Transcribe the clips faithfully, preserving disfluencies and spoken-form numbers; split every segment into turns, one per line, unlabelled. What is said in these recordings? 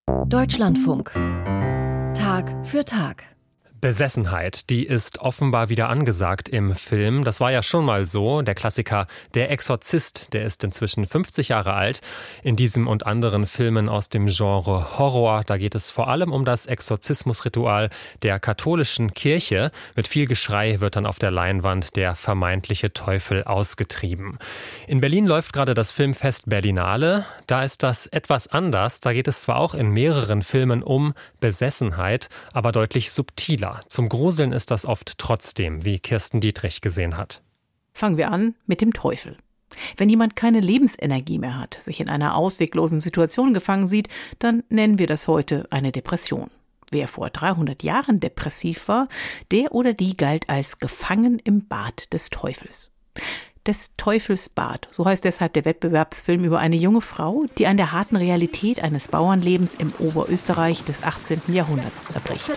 Deutschlandfunk. Tag für Tag.
Besessenheit, die ist offenbar wieder angesagt im Film. Das war ja schon mal so. Der Klassiker Der Exorzist, der ist inzwischen fünfzig Jahre alt. In diesem und anderen Filmen aus dem Genre Horror, da geht es vor allem um das Exorzismusritual der katholischen Kirche. Mit viel Geschrei wird dann auf der Leinwand der vermeintliche Teufel ausgetrieben. In Berlin läuft gerade das Filmfest Berlinale. Da ist das etwas anders. Da geht es zwar auch in mehreren Filmen um Besessenheit, aber deutlich subtiler. Zum Gruseln ist das oft trotzdem, wie Kirsten Dietrich gesehen hat.
Fangen wir an mit dem Teufel. Wenn jemand keine Lebensenergie mehr hat, sich in einer ausweglosen Situation gefangen sieht, dann nennen wir das heute eine Depression. Wer vor dreihundert Jahren depressiv war, der oder die galt als gefangen im Bad des Teufels. Des Teufels Bad, so heißt deshalb der Wettbewerbsfilm über eine junge Frau, die an der harten Realität eines Bauernlebens im Oberösterreich des achtzehnten Jahrhunderts zerbricht.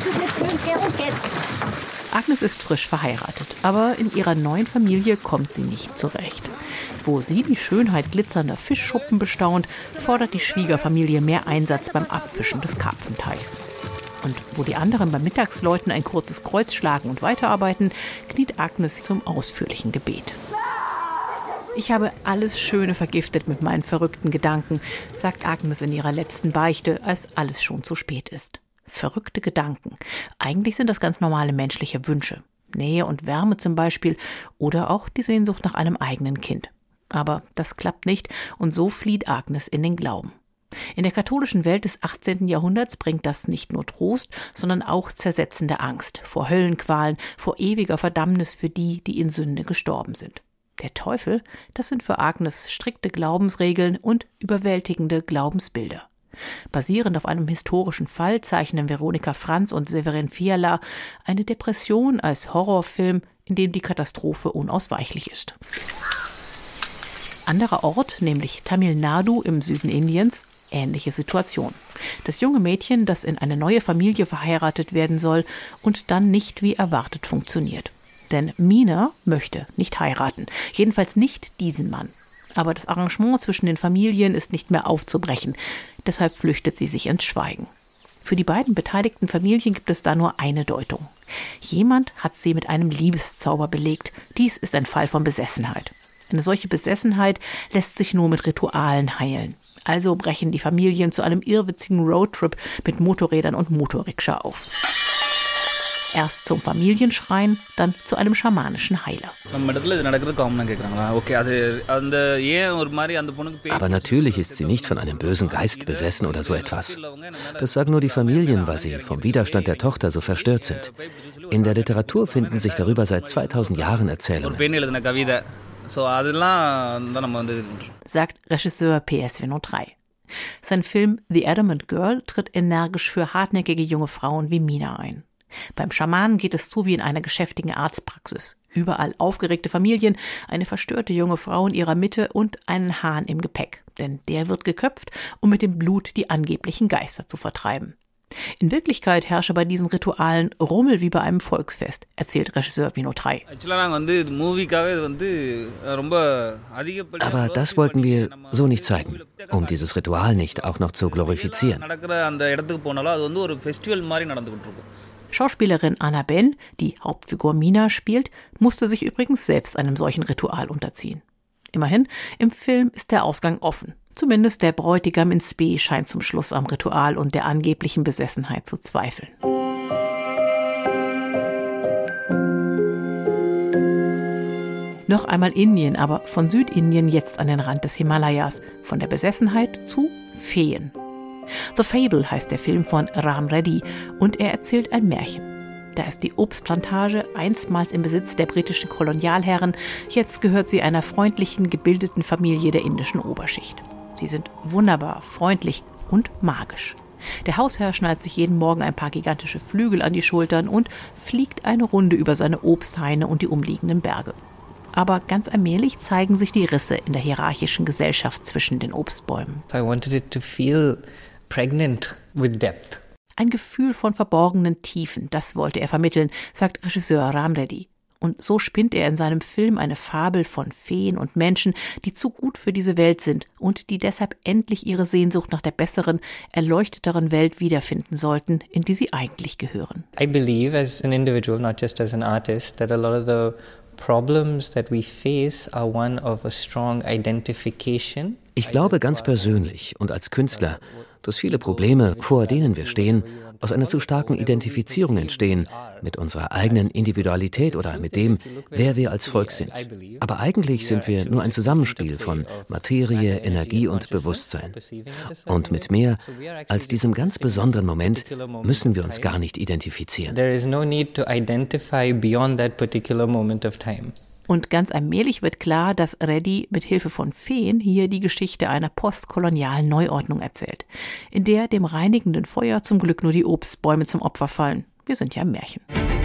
Agnes ist frisch verheiratet, aber in ihrer neuen Familie kommt sie nicht zurecht. Wo sie die Schönheit glitzernder Fischschuppen bestaunt, fordert die Schwiegerfamilie mehr Einsatz beim Abfischen des Karpfenteichs. Und wo die anderen beim Mittagsläuten ein kurzes Kreuz schlagen und weiterarbeiten, kniet Agnes zum ausführlichen Gebet. Ich habe alles Schöne vergiftet mit meinen verrückten Gedanken, sagt Agnes in ihrer letzten Beichte, als alles schon zu spät ist. Verrückte Gedanken. Eigentlich sind das ganz normale menschliche Wünsche. Nähe und Wärme zum Beispiel oder auch die Sehnsucht nach einem eigenen Kind. Aber das klappt nicht und so flieht Agnes in den Glauben. In der katholischen Welt des achtzehnten Jahrhunderts bringt das nicht nur Trost, sondern auch zersetzende Angst vor Höllenqualen, vor ewiger Verdammnis für die, die in Sünde gestorben sind. Der Teufel, das sind für Agnes strikte Glaubensregeln und überwältigende Glaubensbilder. Basierend auf einem historischen Fall zeichnen Veronika Franz und Severin Fiala eine Depression als Horrorfilm, in dem die Katastrophe unausweichlich ist. Anderer Ort, nämlich Tamil Nadu im Süden Indiens, ähnliche Situation. Das junge Mädchen, das in eine neue Familie verheiratet werden soll und dann nicht wie erwartet funktioniert. Denn Meena möchte nicht heiraten, jedenfalls nicht diesen Mann. Aber das Arrangement zwischen den Familien ist nicht mehr aufzubrechen, deshalb flüchtet sie sich ins Schweigen. Für die beiden beteiligten Familien gibt es da nur eine Deutung. Jemand hat sie mit einem Liebeszauber belegt. Dies ist ein Fall von Besessenheit. Eine solche Besessenheit lässt sich nur mit Ritualen heilen. Also brechen die Familien zu einem irrwitzigen Roadtrip mit Motorrädern und Motorrikscha auf. Erst zum Familienschrein, dann zu einem schamanischen Heiler.
Aber natürlich ist sie nicht von einem bösen Geist besessen oder so etwas. Das sagen nur die Familien, weil sie vom Widerstand der Tochter so verstört sind. In der Literatur finden sich darüber seit zweitausend Jahren Erzählungen.
Sagt Regisseur P S Vinod drei. Sein Film The Adamant Girl tritt energisch für hartnäckige junge Frauen wie Meena ein. Beim Schamanen geht es zu wie in einer geschäftigen Arztpraxis. Überall aufgeregte Familien, eine verstörte junge Frau in ihrer Mitte und einen Hahn im Gepäck. Denn der wird geköpft, um mit dem Blut die angeblichen Geister zu vertreiben. In Wirklichkeit herrsche bei diesen Ritualen Rummel wie bei einem Volksfest, erzählt Regisseur Vinod drei.
Aber das wollten wir so nicht zeigen, um dieses Ritual nicht auch noch zu glorifizieren.
Schauspielerin Anna Ben, die Hauptfigur Meena spielt, musste sich übrigens selbst einem solchen Ritual unterziehen. Immerhin, im Film ist der Ausgang offen. Zumindest der Bräutigam in Spe scheint zum Schluss am Ritual und der angeblichen Besessenheit zu zweifeln. Noch einmal Indien, aber von Südindien jetzt an den Rand des Himalayas. Von der Besessenheit zu Feen. The Fable heißt der Film von Ram Reddy und er erzählt ein Märchen. Da ist die Obstplantage einstmals im Besitz der britischen Kolonialherren, jetzt gehört sie einer freundlichen, gebildeten Familie der indischen Oberschicht. Sie sind wunderbar, freundlich und magisch. Der Hausherr schnallt sich jeden Morgen ein paar gigantische Flügel an die Schultern und fliegt eine Runde über seine Obsthaine und die umliegenden Berge. Aber ganz allmählich zeigen sich die Risse in der hierarchischen Gesellschaft zwischen den Obstbäumen.
I wanted it to feel pregnant with depth.
Ein Gefühl von verborgenen Tiefen, das wollte er vermitteln, sagt Regisseur Ram Reddy. Und so spinnt er in seinem Film eine Fabel von Feen und Menschen, die zu gut für diese Welt sind und die deshalb endlich ihre Sehnsucht nach der besseren, erleuchteteren Welt wiederfinden sollten, in die sie eigentlich gehören.
I believe as an individual, not just as an artist, that a lot of the problems that we face are one of a strong identification.
Ich glaube ganz persönlich und als Künstler, dass viele Probleme, vor denen wir stehen, aus einer zu starken Identifizierung entstehen, mit unserer eigenen Individualität oder mit dem, wer wir als Volk sind. Aber eigentlich sind wir nur ein Zusammenspiel von Materie, Energie und Bewusstsein. Und mit mehr als diesem ganz besonderen Moment müssen wir uns gar nicht identifizieren.
There is no need to identify beyond that particular moment of time.
Und ganz allmählich wird klar, dass Reddy mit Hilfe von Feen hier die Geschichte einer postkolonialen Neuordnung erzählt, in der dem reinigenden Feuer zum Glück nur die Obstbäume zum Opfer fallen. Wir sind ja im Märchen.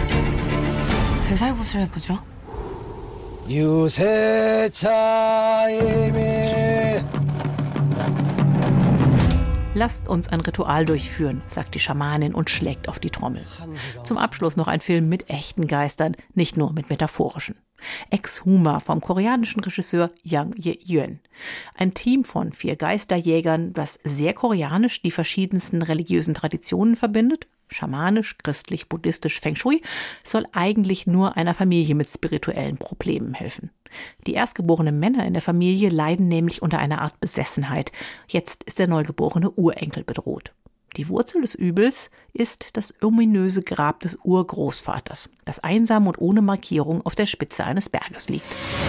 Lasst uns ein Ritual durchführen, sagt die Schamanin und schlägt auf die Trommel. Zum Abschluss noch ein Film mit echten Geistern, nicht nur mit metaphorischen. Exhuma vom koreanischen Regisseur Yang Ye-yeon. Ein Team von vier Geisterjägern, das sehr koreanisch die verschiedensten religiösen Traditionen verbindet, schamanisch, christlich, buddhistisch, Feng Shui, soll eigentlich nur einer Familie mit spirituellen Problemen helfen. Die erstgeborenen Männer in der Familie leiden nämlich unter einer Art Besessenheit. Jetzt ist der neugeborene Urenkel bedroht. Die Wurzel des Übels ist das ominöse Grab des Urgroßvaters, das einsam und ohne Markierung auf der Spitze eines Berges liegt.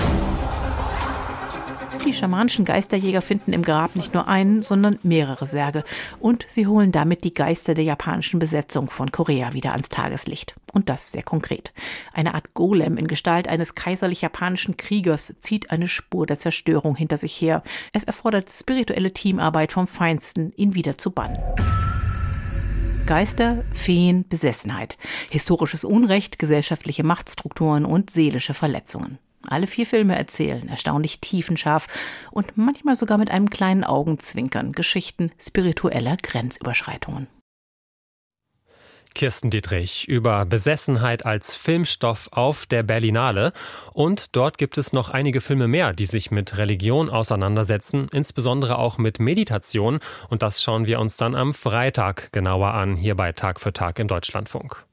Die schamanischen Geisterjäger finden im Grab nicht nur einen, sondern mehrere Särge. Und sie holen damit die Geister der japanischen Besetzung von Korea wieder ans Tageslicht. Und das sehr konkret. Eine Art Golem in Gestalt eines kaiserlich-japanischen Kriegers zieht eine Spur der Zerstörung hinter sich her. Es erfordert spirituelle Teamarbeit vom Feinsten, ihn wieder zu bannen. Geister, Feen, Besessenheit, historisches Unrecht, gesellschaftliche Machtstrukturen und seelische Verletzungen. Alle vier Filme erzählen erstaunlich tiefenscharf und manchmal sogar mit einem kleinen Augenzwinkern Geschichten spiritueller Grenzüberschreitungen.
Kirsten Dietrich über Besessenheit als Filmstoff auf der Berlinale. Und dort gibt es noch einige Filme mehr, die sich mit Religion auseinandersetzen, insbesondere auch mit Meditation. Und das schauen wir uns dann am Freitag genauer an, hier bei Tag für Tag im Deutschlandfunk.